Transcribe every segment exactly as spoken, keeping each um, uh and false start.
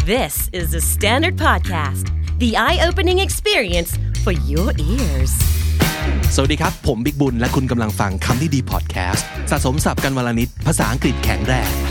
This is the Standard Podcast, the eye-opening experience for your ears. สวัสดีครับผมบิ๊กบุญและคุณกำลังฟังคำนี้ดีพอดแคสต์สะสมศัพท์กันวลนิดภาษาอังกฤษแข็งแรง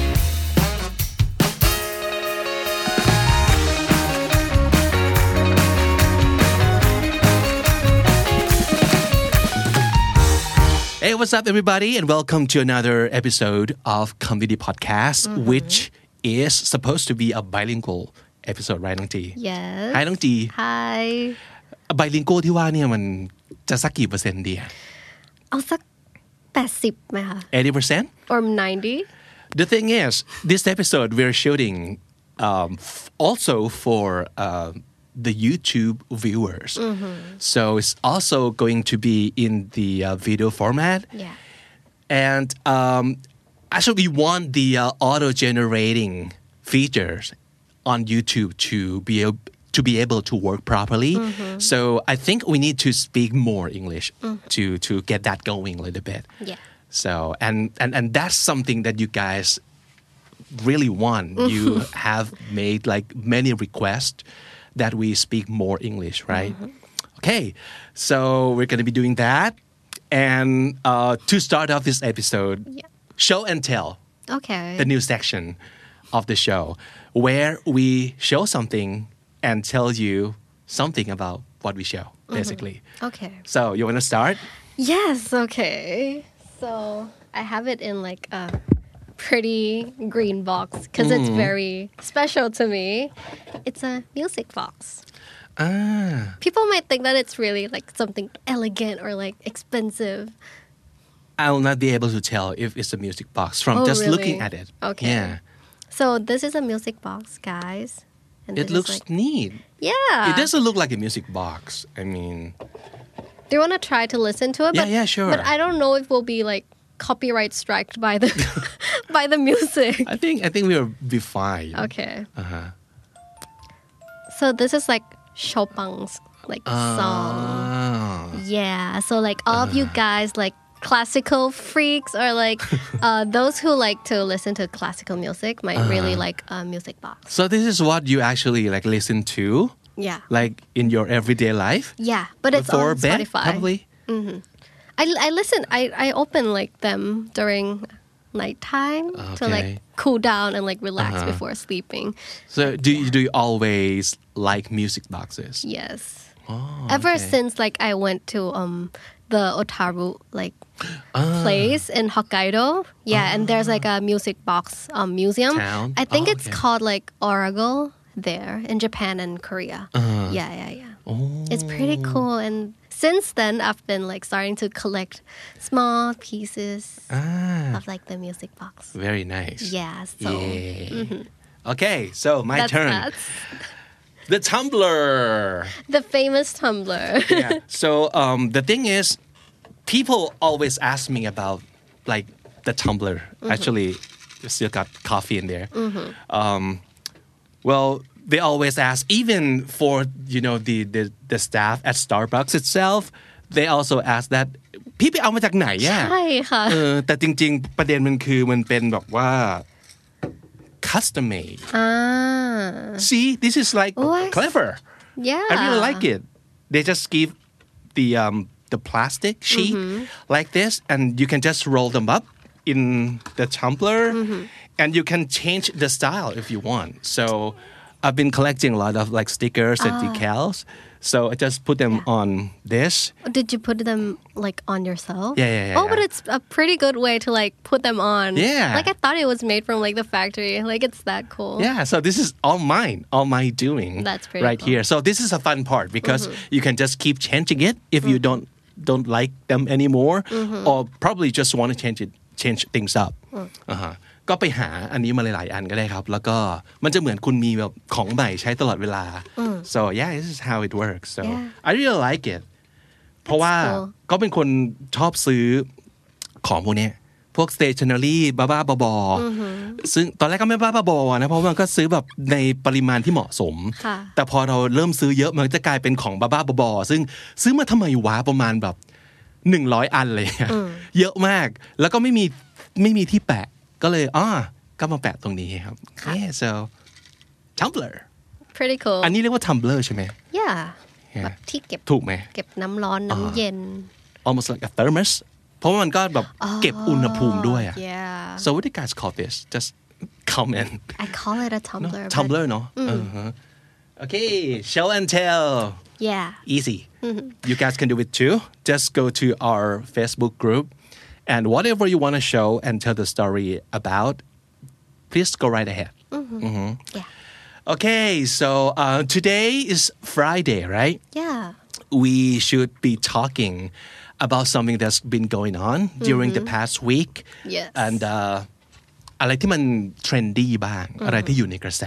Hey, what's up, everybody, and welcome to another episode of Comedy Podcast, mm-hmm. which is supposed to be a bilingual episode, right, น้องจี Yes. Hi, น้องจี Hi. bilingual ที่ว่าเนี่ยมันจะสักกี่เปอร์เซ็นต์ดีอะเอาสักแปดสิบไหมคะ eighty percent or ninety The thing is, this episode we're shooting um, f- also for uh, the YouTube viewers. Mm-hmm. So it's also going to be in the uh, video format. Yeah. And um, actually we want the uh, auto-generating features on YouTube to be able to be able to work properly. Mm-hmm. So I think we need to speak more English mm-hmm. to to get that going a little bit. Yeah. So and and and that's something that you guys really want. Mm-hmm. You have made like many requests that we speak more English, right? Mm-hmm. Okay. So we're going to be doing that. And uh, to start off this episode, yeah. show and tell. Okay. The new section of the show where we show something and tell you something about what we show, basically. Mm-hmm. Okay. So you want to start? Yes, okay. So I have it in like a pretty green box because mm. it's very special to me. It's a music box. Ah. People might think that it's really like something elegant or like expensive. I'll not be able to tell if it's a music box from oh, just really? looking at it. Okay. Yeah. So this is a music box, guys. And it looks like, neat. Yeah. It doesn't look like a music box. I mean... Do you want to try to listen to it? Yeah, but, yeah, sure. But I don't know if we'll be like copyright striked by the by the music. I think I think we'll be fine. Okay. Uh-huh. So this is like Chopin's like uh, song. Yeah. So like all uh, of you guys like classical freaks or like uh, those who like to listen to classical music might uh, really like a music box. So this is what you actually like listen to? Yeah. Like in your everyday life? Yeah, but it's Before on bed, Spotify. Probably? Mm-hmm. I, I listen, I, I open like them during nighttime okay. to like cool down and like relax uh-huh. before sleeping. So do you, do you always like music boxes? Yes. Oh, Ever okay. since like I went to um the Otaru like ah. place in Hokkaido. Yeah, ah. and there's like a music box um museum. Town? I think oh, it's okay. called like Oracle there in Japan and Korea. Uh-huh. Yeah, yeah, yeah. Oh. It's pretty cool and since then I've been like starting to collect small pieces ah. of like the music box. Very nice. Yeah, so yeah. Mm-hmm. Okay, so my that's, turn. That's the tumbler. The famous tumbler. Yeah. So um, the thing is, people always ask me about like the tumbler. Mm-hmm. Actually, you still got coffee in there. Mm-hmm. Um, well, they always ask, even for you know the, the the staff at Starbucks itself, they also ask that พี่ไปเอามาจากไหนอ่ะใช่ค่ะเออแต่จริงๆประเด็นมันคือมันเป็นแบบว่า custom made. Ah. See, this is like what? clever. Yeah. I really like it. They just give the um the plastic sheet mm-hmm. like this and you can just roll them up in the tumbler mm-hmm. and you can change the style if you want. So I've been collecting a lot of like stickers and ah. decals. So I just put them yeah. on this. Did you put them like on yourself? Yeah, yeah, yeah. Oh, yeah. but it's a pretty good way to like put them on. Yeah. Like I thought it was made from like the factory. Like it's that cool. Yeah, so this is all mine, all my doing. That's pretty right cool. here. So this is a fun part because mm-hmm. you can just keep changing it if mm-hmm. you don't don't like them anymore mm-hmm. or probably just want to change it change things up. Mm. Uh-huh. ก็ไปหาอันนี้มาหลายๆอันก็ได้ครับแล้วก็มันจะเหมือนคุณมีแบบของใหม่ใช้ตลอดเวลา so yeah this is how it works so yeah. I really like it เพราะว่าก็เป็นคนชอบซื้อของพวกนี้พวก stationery บ้าๆบอๆซึ่งตอนแรกก็ไม่บ้าๆบอๆนะเพราะมันก็ซื้อแบบในปริมาณที่เหมาะสมแต่พอเราเริ่มซื้อเยอะมันจะกลายเป็นของบ้าๆบอๆซึ่งซื้อมาทำไมวะประมาณแบบหนึ่งร้อยอันเลยเยอะมากแล้วก็ไม่มีไม่มีที่แปะก็เลยอ๋อก็มาแปะตรงนี้ครับ yeah so Tumblr pretty cool อันนี้เรียกว่า Tumblr ใช่ไหม yeah Yeah แบบที่เก็บถูกไหมเก็บน้ำร้อนน้ำเย็น almost like a thermos เพราะว่ามันก็แบบเก็บอุณหภูมิด้วยอะ yeah so what do you guys call this just comment I call it a tumbler but- Tumblr เนาะ uh-huh. okay show and tell yeah easy you guys can do it too just go to our Facebook group and whatever you want to show and tell the story about please go right ahead mm-hmm. yeah okay so uh, today is Friday right yeah we should be talking about something that's been going on during the past week yes and uh, อะไรที่มัน trendy บ้าง อะไรที่อยู่ในกระแส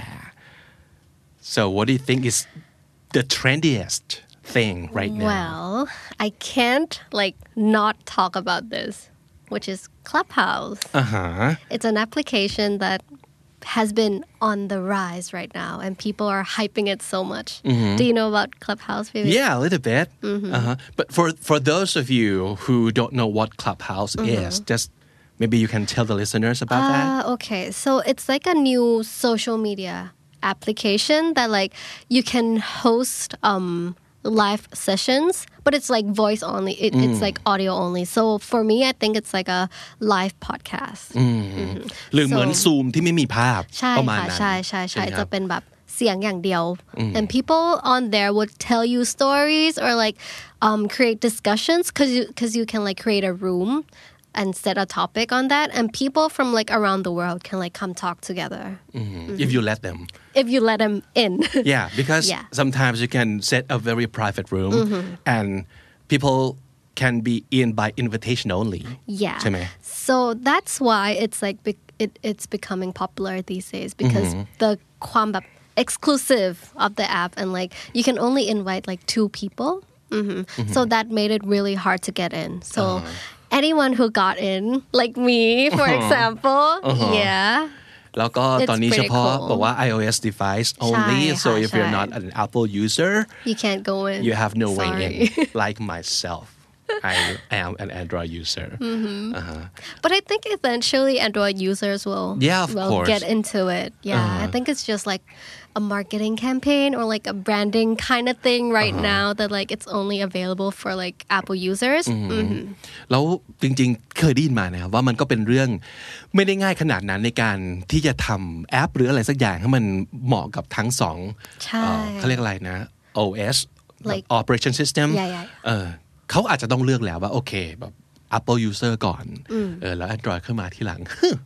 so what do you think is the trendiest thing right now well I can't like not talk about this which is Clubhouse uh-huh it's an application that has been on the rise right now and people are hyping it so much mm-hmm. do you know about Clubhouse baby? yeah a little bit mm-hmm. uh-huh. but for for those of you who don't know what Clubhouse mm-hmm. is just maybe you can tell the listeners about uh, that okay so it's like a new social media application that like you can host um live sessions but it's like voice only it, mm. it's like audio only so for me I think it's like a live podcast หรือเหมือน Zoom ที่ไม่มีภาพใช่ค่ะใช่ใช่ใช่จะเป็นแบบเสียงอย่างเดียว and people on there would tell you stories or like um create discussions cuz you cuz you can like create a room and set a topic on that and people from like around the world can like come talk together mm-hmm. Mm-hmm. if you let them if you let them in yeah because yeah. sometimes you can set a very private room mm-hmm. and people can be in by invitation only yeah ใช่ไหม so that's why it's like it, it's becoming popular these days because mm-hmm. the ความแบบ exclusive of the app and like you can only invite like two people mm-hmm. Mm-hmm. so that made it really hard to get in so uh-huh. anyone who got in like me for uh-huh. example uh-huh. yeah แล้วก็ตอนนี้เฉพาะบอกว่า iOS device only so if you're not an Apple user you can't go in you have no Sorry. way in like myself I am an Android user mm-hmm. uh-huh. but I think eventually Android users will yeah, of will course. get into it yeah uh-huh. I think it's just like a marketing campaign or like a branding kind of thing right uh-huh. now that like it's only available for like Apple users แล้วจริงๆเคยได้ยินมานะครับว่ามันก็เป็นเรื่องไม่ได้ง่ายขนาดนั้นในการที่จะทำแอปหรืออะไรสักอย่างให้มันเหมาะกับทั้งสองเขาเรียกอะไรนะ โอ เอส like operation system yeah, yeah. เออเขาอาจจะต้องเลือกแล้วว่าโอเคแบบ Apple user ก่อนเออแล้ว Android ขึ้นมาทีหลัง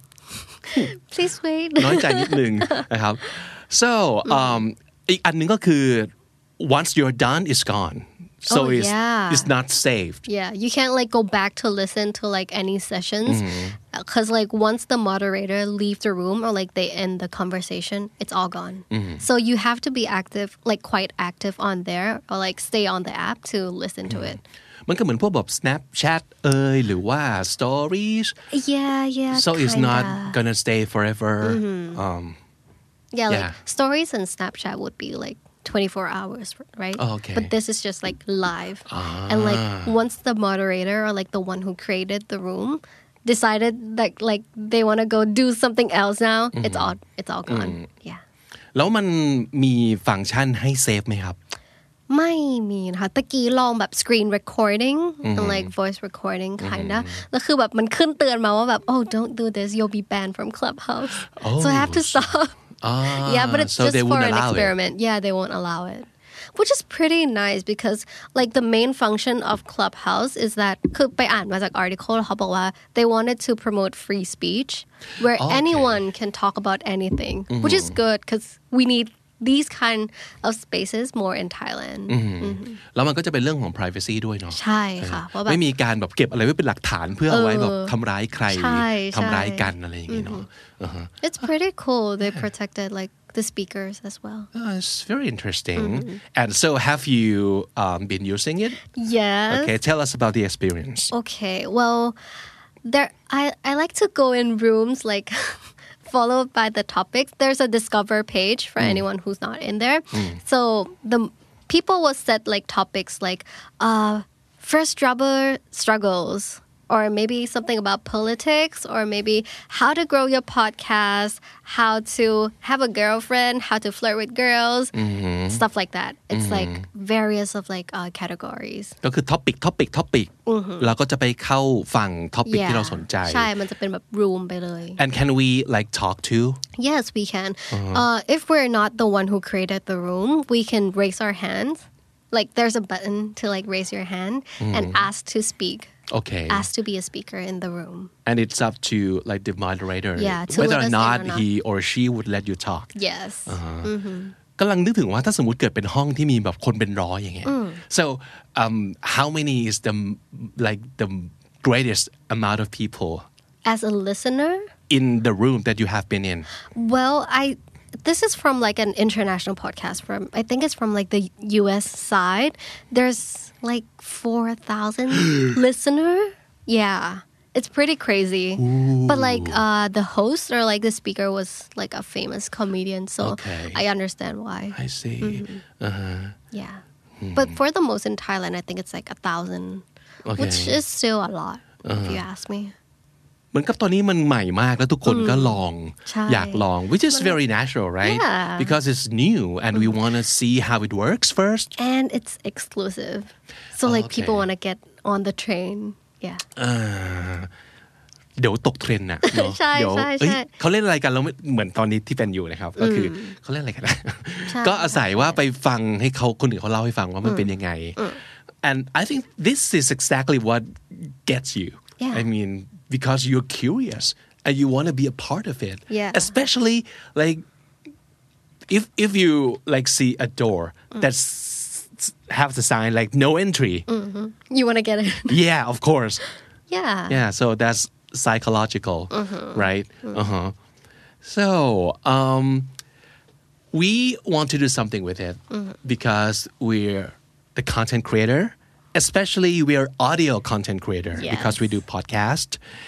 please wait น้อยใจนิดนึงนะครับ so um อีกอันนึงก็คือ once you're done it's gone so oh, it's yeah. it's not saved yeah you can't like go back to listen to like any sessions because mm-hmm. like once the moderator leave the room or like they end the conversation it's all gone mm-hmm. so you have to be active like quite active on there or like stay on the app to listen mm-hmm. to it มันก็เหมือนพวกแบบ Snapchat เอ่ยหรือว่า Stories yeah yeah so kinda. it's not gonna stay forever mm-hmm. um yeah, yeah like Stories and Snapchat would be like twenty-four hours right oh, okay but this is just like live ah. and like once the moderator or like the one who created the room decided that like they want to go do something else now mm-hmm. it's all it's all gone mm-hmm. yeah แล้วมันมีฟังก์ชันให้เซฟไหมครับไม่มีนะคะตะกี้ลองแบบ screen recording mm-hmm. and like voice recording kinda แล้วคือแบบมันขึ้นเตือนมาว่าแบบ oh don't do this you'll be banned from Clubhouse oh, so I have to stop ah, yeah but it's so just for an experiment it. yeah they won't allow it which is pretty nice because like the main function of Clubhouse is that คือไปอ่านมาจาก article เขาบอกว่า they wanted to promote free speech where okay. anyone can talk about anything mm-hmm. which is good because we need these kind of spaces more in Thailand แล้วมันก็จะเป็นเรื่องของ privacy ด้วยเนาะใช่ค่ะเพราะแบบไม่มีการแบบเก็บอะไรไว้เป็นหลักฐานเพื่อเอาไว้แบบทำร้ายใครทำร้ายกันอะไรอย่างเงี้ยเนาะ It's pretty cool they protected like the speakers as well oh, it's very interesting mm-hmm. and so have you um, been using it yes okay tell us about the experience okay well there I I like to go in rooms like followed by the topics there's a discover page for mm. anyone who's not in there mm. so the people will set like topics like uh first jobber struggles or maybe something about politics, or maybe how to grow your podcast, how to have a girlfriend, how to flirt with girls, mm-hmm. stuff like that. It's mm-hmm. like various of like uh, categories. ก็คือ topic topic topic เราก็จะไปเข้าฟัง topic ที่เราสนใจใช่มันจะเป็นแบบ room ไปเลย And can we like talk too? Yes, we can. Uh-huh. Uh, if we're not the one who created the room, we can raise our hands. Like there's a button to like raise your hand mm-hmm. and ask to speak. Okay. Ask to be a speaker in the room. And it's up to like the moderator yeah, to whether or not, or not he or she would let you talk. Yes. Uh-huh. Mm-hmm. กำลังนึกถึงว่าถ้าสมมุติเกิดเป็นห้องที่มีแบบคนเป็นร้อยอย่างเงี้ย so um how many is the like the greatest amount of people as a listener in the room that you have been in? Well, I this is from like an international podcast from I think it's from like the U S side. There's like four thousand listener. Yeah. It's pretty crazy. Ooh. But like uh, the host or like the speaker was like a famous comedian, so okay. I understand why. I see. Mm-hmm. Uh-huh. Yeah. Hmm. But for the most in Thailand, I think it's like a thousand, okay. which is still a lot, uh-huh. if you ask me. เหมือนกับตอนนี้มันใหม่มากแล้วทุกคนก็ลองอยากลอง which is very natural, right? Yeah. Because it's new and we want to see how it works first. And it's exclusive. So like okay. people want to get on the train. Yeah. เดี๋ยวตกเทรนด์น่ะเนาะใช่เดี๋ยวใช่ใช่เขาเล่นอะไรกันแล้วเหมือนตอนนี้ที่เป็นอยู่นะครับก็คือเขาเล่นอะไรกันนะก็อาศัยว่าไปฟังให้เขาคนอื่นเขาเล่าให้ฟังว่ามันเป็นยังไง and I think this is exactly what gets you yeah. I mean because you're curious and you want to be a part of it yeah. especially like if if you like see a door that's have the sign like no entry mm-hmm. you want to get it yeah of course yeah yeah so that's psychological mm-hmm. right mm-hmm. uh-huh so um we want to do something with it mm-hmm. because we're the content creator especially we're audio content creator yes. because we do podcast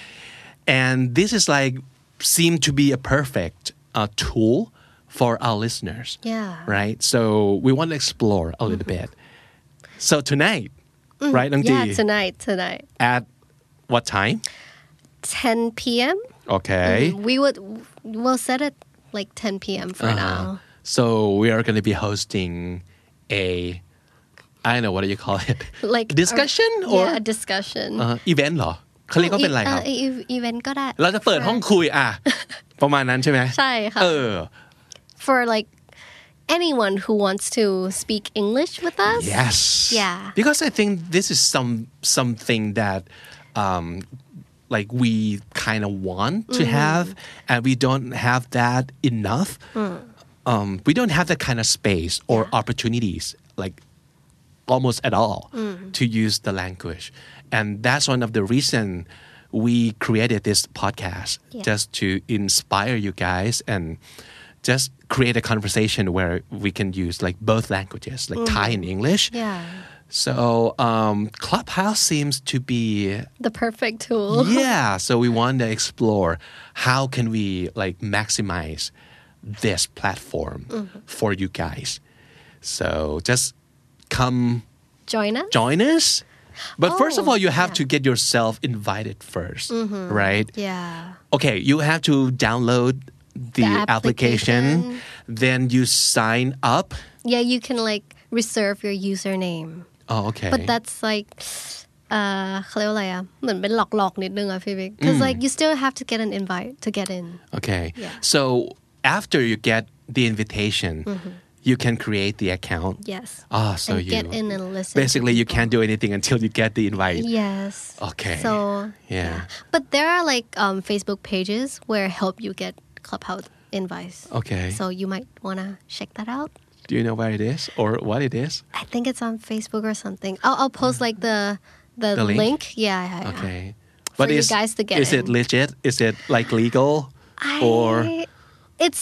and this is like seem to be a perfect uh, tool for our listeners yeah right so we want to explore a little mm-hmm. bit so tonight mm-hmm. right Nong yeah Ji? tonight tonight at what time ten p.m. okay mm-hmm. we would we'll set it like ten p.m. for uh-huh. now so we are going to be hosting a I don't know what do you call it like discussion or, or yeah a discussion uh, event เหรอเขาเรียกว่าเป็นอะไรครับ event ก็ได้เราจะเปิดห้องคุยอ่ะประมาณนั้นใช่ไหมใช่ค่ะเออ for like anyone who wants to speak English with us yes yeah because I think this is some something that um like we kind of want to mm. have and we don't have that enough mm. um we don't have that kind of space or yeah. opportunities like almost at all mm. to use the language and that's one of the reason we created this podcast yeah. just to inspire you guys and just create a conversation where we can use like both languages like mm. Thai and English yeah so um Clubhouse seems to be the perfect tool yeah so we want to explore how can we like maximize this platform mm-hmm. for you guys so just come join us join us but oh, first of all you have yeah. to get yourself invited first mm-hmm. right yeah okay you have to download the, the application. application then you sign up yeah you can like reserve your username oh okay but that's like เอ่อเขาเรียกว่าอะไรอ่ะเหมือนเป็นหลอกๆนิดนึงอ่ะพี่บิ๊ก because like you still have to get an invite to get in okay yeah. so after you get the invitation mm-hmm. you can create the account yes oh so and you get in and listen basically you can't do anything until you get the invite yes okay so yeah, yeah. but there are like um, Facebook pages where help you get Clubhouse invites okay so you might want to check that out do you know where it is or what it is I think it's on Facebook or something I'll, I'll post like the the, the link? link yeah, yeah, yeah. okay for but you is, guys to get is in. it legit is it like legal I, or it's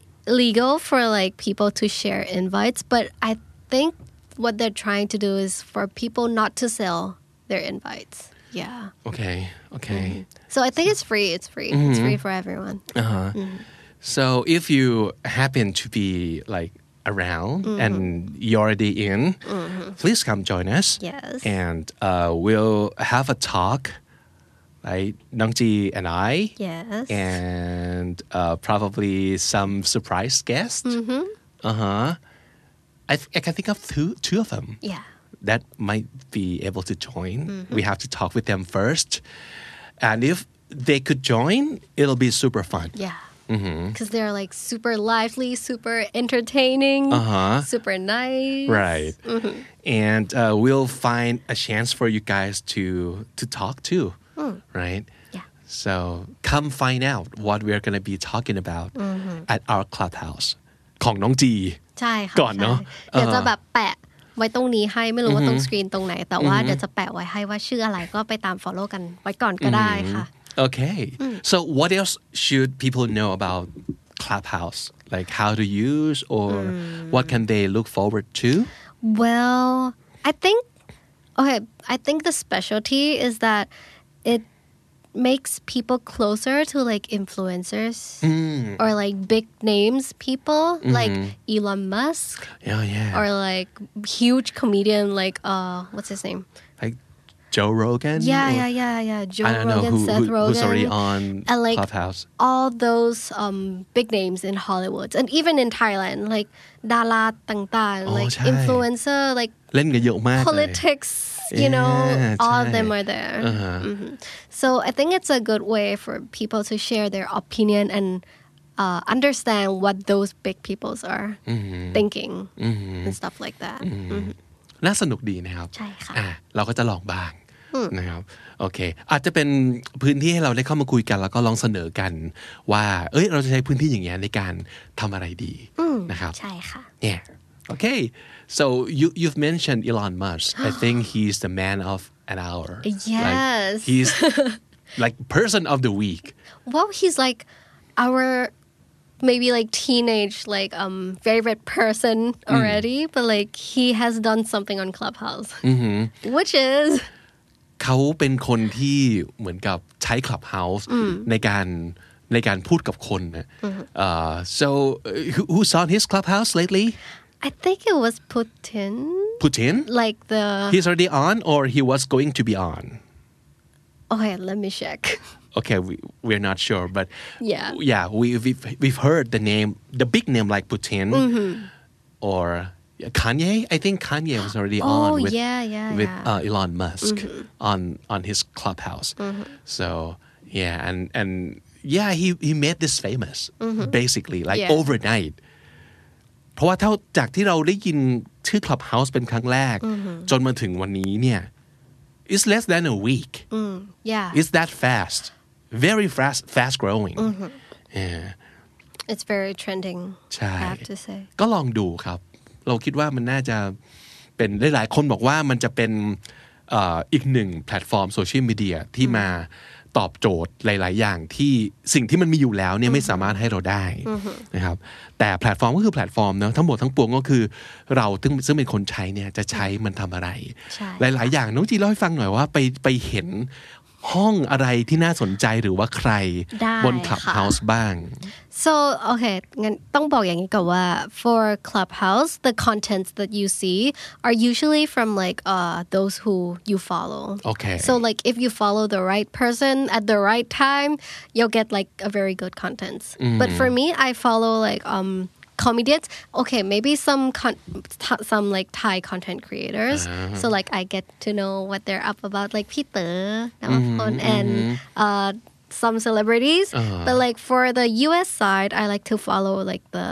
legal for like people to share invites but I think what they're trying to do is for people not to sell their invites yeah okay okay mm-hmm. so I think it's free it's free mm-hmm. it's free for everyone uh-huh mm-hmm. so if you happen to be like around mm-hmm. and you're already in mm-hmm. please come join us yes and uh, we'll have a talk right? Nong Ji and I. Yes. And uh, probably some surprise guests. Mm-hmm. Uh-huh. I, th- I can think of two, two of them. Yeah. That might be able to join. Mm-hmm. We have to talk with them first. And if they could join, it'll be super fun. Yeah. Because they're like super lively, super entertaining, Uh-huh. super nice. Right. Mm-hmm. And uh, we'll find a chance for you guys to to talk too. Mm. Right? Yeah. So come find out what we're going to be talking about mm-hmm. at our clubhouse ของน้องจีใช่ค่ะก่อนเนอะใช่เดี๋ยวจะแบบแปะไว้ตรงนี้ให้ไม่รู้ว่าตรงสกรีนตรงไหนแต่ว่าเดี๋ยวจะแปะไว้ให้ว่าชื่ออะไรก็ไปตาม follow กันไว้ก่อนก็ได้ค่ะ Okay. Mm. So what else should people know about Clubhouse? Like how to use or mm. what can they look forward to? Well, I think okay, I think the specialty is that it makes people closer to like influencers mm. or like big names people mm-hmm. like Elon Musk. Oh yeah. Or like huge comedian like uh what's his name? Like Joe Rogan? Yeah, or, yeah, yeah, yeah. Joe I don't Rogan, know who, Seth who, Rogen. Who's already on and like Clubhouse. All those um, big names in Hollywood and even in Thailand, like ดาราต่างๆ like ใช่ influencer, like เล่นกันเยอะมากเลย politics, you know, Yeah, all of ใช่ them are there. Uh-huh. Mm-hmm. So I think it's a good way for people to share their opinion and uh, understand what those big peoples are Mm-hmm. thinking Mm-hmm. and stuff like that. Mm-hmm. น่าสนุกดีนะครับใช่ค่ะอ่ะเราก็จะลองบ้างนะครับโอเคอาจจะเป็นพื้นที่ให้เราได้เข้ามาคุยกันแล้วก็ลองเสนอกันว่าเอ้ยเราจะใช้พื้นที่อย่างเงี้ยในการทำอะไรดีนะครับใช่ค่ะ Yeah okay so you you've mentioned Elon Musk I think he's the man of an hour Yes like, he's like person of the week well he's like our maybe like teenage like um favorite person already mm. but like he has done something on Clubhouse mm-hmm. which is เขาเป็นคนที่เหมือนกับใช้ Clubhouse ในการในการพูดกับคนนะ uh, so who, who's on his Clubhouse lately I think it was Putin Putin like the he's already on or he was going to be on okay let me check okay we, we're not sure but yeah yeah we, we've, we've heard the name the big name like Putin mm-hmm. or Kanye I think Kanye was already oh, on with, yeah, yeah, with yeah. Uh, Elon Musk mm-hmm. on on his Clubhouse mm-hmm. so yeah and and yeah he he made this famous mm-hmm. basically like yeah. overnight เพราะว่าเท่าจากที่เราได้ยินชื่อ Clubhouse เป็นครั้งแรก mm-hmm. จนมาถึงวันนี้เนี่ย it's less than a week mm, yeah it's that fast very fast fast growing mm-hmm. yeah it's very trending ใช่ I have to say ก็ลองดูครับเราคิดว่ามันน่าจะเป็นหลายๆคนบอกว่ามันจะเป็นเอ่ออีกหนึ่งแพลตฟอร์มโซเชียลมีเดียที่มาตอบโจทย์หลายๆอย่างที่สิ่งที่มันมีอยู่แล้วเนี่ยไม่สามารถให้เราได้นะครับแต่แพลตฟอร์มก็คือแพลตฟอร์มเนอะทั้งหมดทั้งปวงก็คือเราซึ่งซึ่งเป็นคนใช้เนี่ยจะใช้มันทำอะไรหลายๆอย่างน้องจีเล่าให้ฟังหน่อยว่าไปไปเห็นห้องอะไรที่น่าสนใจหรือว่าใครบน Clubhouse บ้าง so okay งั้นต้องบอกอย่างนี้ก่อนว่า for Clubhouse the contents that you see are usually from like uh those who you follow okay so like if you follow the right person at the right time you'll get like a very good contents mm-hmm. but for me I follow like um comedians okay maybe some con- t- some like Thai content creators uh-huh. so like I get to know what they're up about like พี่เต๋อ mm-hmm. and uh some celebrities uh-huh. but like for the U S side I like to follow like the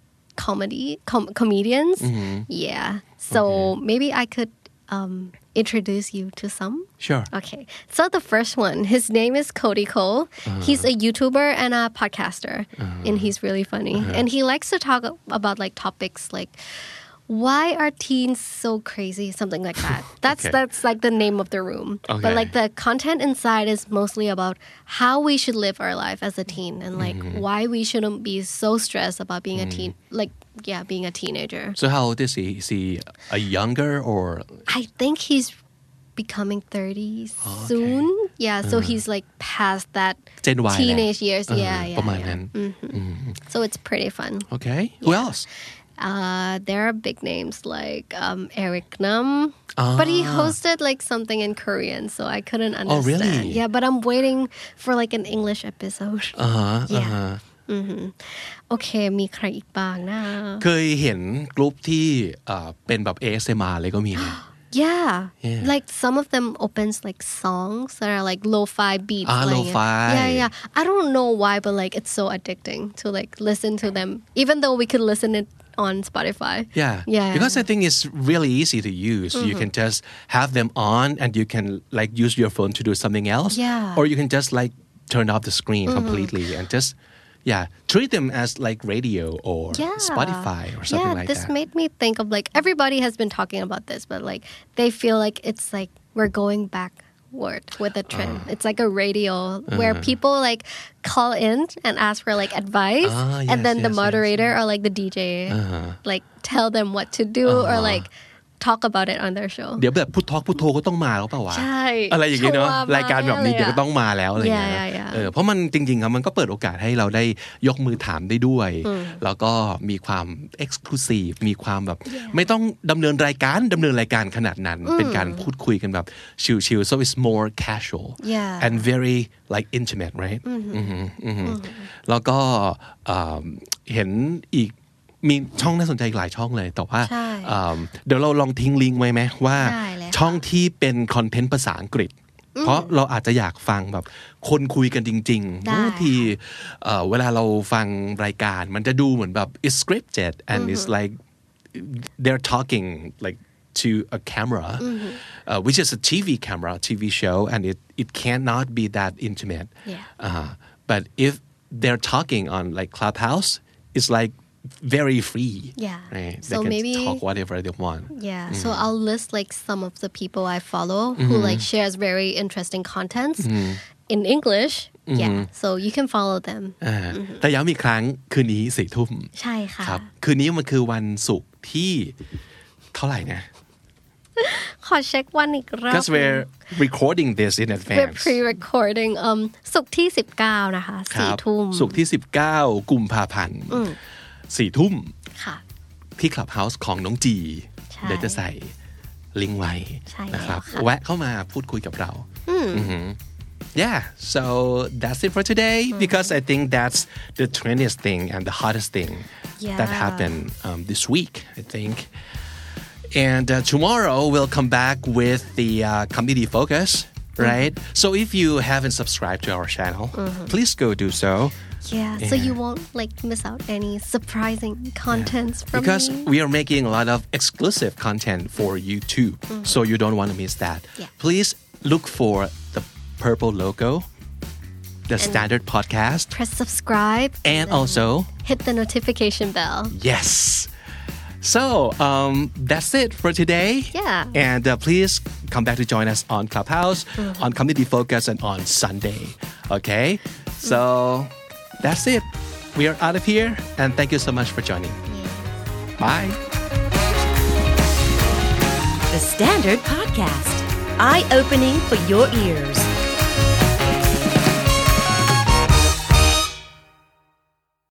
comedy com- comedians mm-hmm. yeah so okay. maybe I could um introduce you to some sure okay so the first one his name is Cody Cole uh-huh. he's a YouTuber and a podcaster uh-huh. and he's really funny uh-huh. and he likes to talk about like topics like why are teens so crazy something like that that's okay. that's like the name of the room okay. but like the content inside is mostly about how we should live our life as a teen and like mm-hmm. why we shouldn't be so stressed about being mm-hmm. a teen like yeah being a teenager so how old is he is he a younger or I think he's becoming thirty oh, soon okay. yeah so uh-huh. he's like past that Gen Y teenage years uh-huh. yeah yeah, ประมาณ yeah. นั้น mm-hmm. Mm-hmm. so it's pretty fun okay who yeah. else Uh, there are big names like um, Eric Nam, but he hosted like something in Korean, so I couldn't understand. Oh, really? Yeah, but I'm waiting for like an English episode. Uh-huh, Yeah. uh-huh. โอเคมีใครอีกบ้างนะเคยเห็นกลุ่มที่เอ่อเป็นแบบ เอ เอส เอ็ม อาร์ เลยก็มีนะ Yeah. Yeah. Like some of them opens like songs that are like lo-fi beats. Ah, playing. lo-fi. Yeah, yeah. I don't know why, but like it's so addicting to like listen to them, even though we could listen it on Spotify. Yeah. Yeah. Because I think it's really easy to use. You can just have them on and you can like use your phone to do something else. Yeah. Or you can just like turn off the screen completely and just yeah, treat them as like radio or Yeah. Spotify or something yeah, like this that. made me think of like everybody has been talking about this, but like they feel like it's like we're going backward with the trend. Uh. It's like a radio where people like call in and ask for like advice, Ah, and yes, then the yes, yes, moderator or like the D J like tell them what to do or like talk about it on their show. เดี๋ยวแบบพูดทอล์กพูดโทรก็ต้องมาแล้วเปล่าวะใช่อะไรอย่างงี้เนาะชัวร์มากรายการแบบนี้เลยอะเดี๋ยวก็ต้องมาแล้วอะไรอย่างเงี้ย Yeah, yeah, yeah. เออเพราะมันจริงๆครับมันก็เปิดโอกาสให้เราได้ยกมือถามได้ด้วย แล้วก็มีความ exclusive มีความแบบไม่ต้องดำเนินรายการดำเนินรายการขนาดนั้น เป็นการพูดคุยกันแบบชิลๆ so it's more casual Yeah. and very like intimate right อือหืออือหือแล้วก็เอ่อเห็นอีกมีช่องน่าสนใจอีกหลายช่องเลยแต่ว่าใช่เอ่อเดี๋ยวเราลองทิ้งลิงก์ไว้ไหมว่าได้เลยค่ะช่องที่เป็นคอนเทนต์ภาษาอังกฤษ เพราะเราอาจจะอยากฟังแบบคนคุยกันจริงๆได้บางทีเอ่อเวลาเราฟังรายการมันจะดูเหมือนแบบ it's scripted and it's like they're talking like to a camera uh, which is a T V camera T V show and it it cannot be that intimate Yeah. uh, but if they're talking on like Clubhouse it's like very free Yeah. right? So they can maybe- talk whatever they want Yeah, so I'll list like some of the people I follow who like shares very interesting contents in English. Yeah, so you can follow them. อ่าแต่ย้ำอีกครั้งคืนนี้สี่ทุ่มใช่ค่ะครับคืนนี้มันคือวันศุกร์ที่เท่าไหร่นะขอเช็ควันอีกรอบ because we're recording this in We're advance pre-recording um ศุกร์ที่สิบเก้านะคะคสี่รับทุ่มศุกร์ที่สิบเก้ากุมภาพันธ์สี่ทุ่มค่ะที่ Clubhouse ของน้องจีใช่เดี๋ยวจะใส่ลิงก์ไว้ใช่แล้วนะครับค่ะแวะเข้ามาพูดคุยกับเราอือหือ Yeah, so that's it for today because I think that's the trendiest thing and the hottest thing that Yeah. happened um, this week, I think. And uh, tomorrow we'll come back with the uh, community focus, right? So if you haven't subscribed to our channel, please go do so. Yeah, so Yeah. you won't like miss out any surprising contents from Because me. we are making a lot of exclusive content for YouTube, so you don't want to miss that. Yeah. Please look for the purple logo, the standard podcast, Press subscribe and also, hit the notification bell. yes. So um, that's it for today. Yeah. And uh, please come back to join us on Clubhouse, on Community Focus, and on Sunday. Okay? So that's it. We are out of here, and thank you so much for joining. Bye. The Standard Podcast, eye-opening for your ears.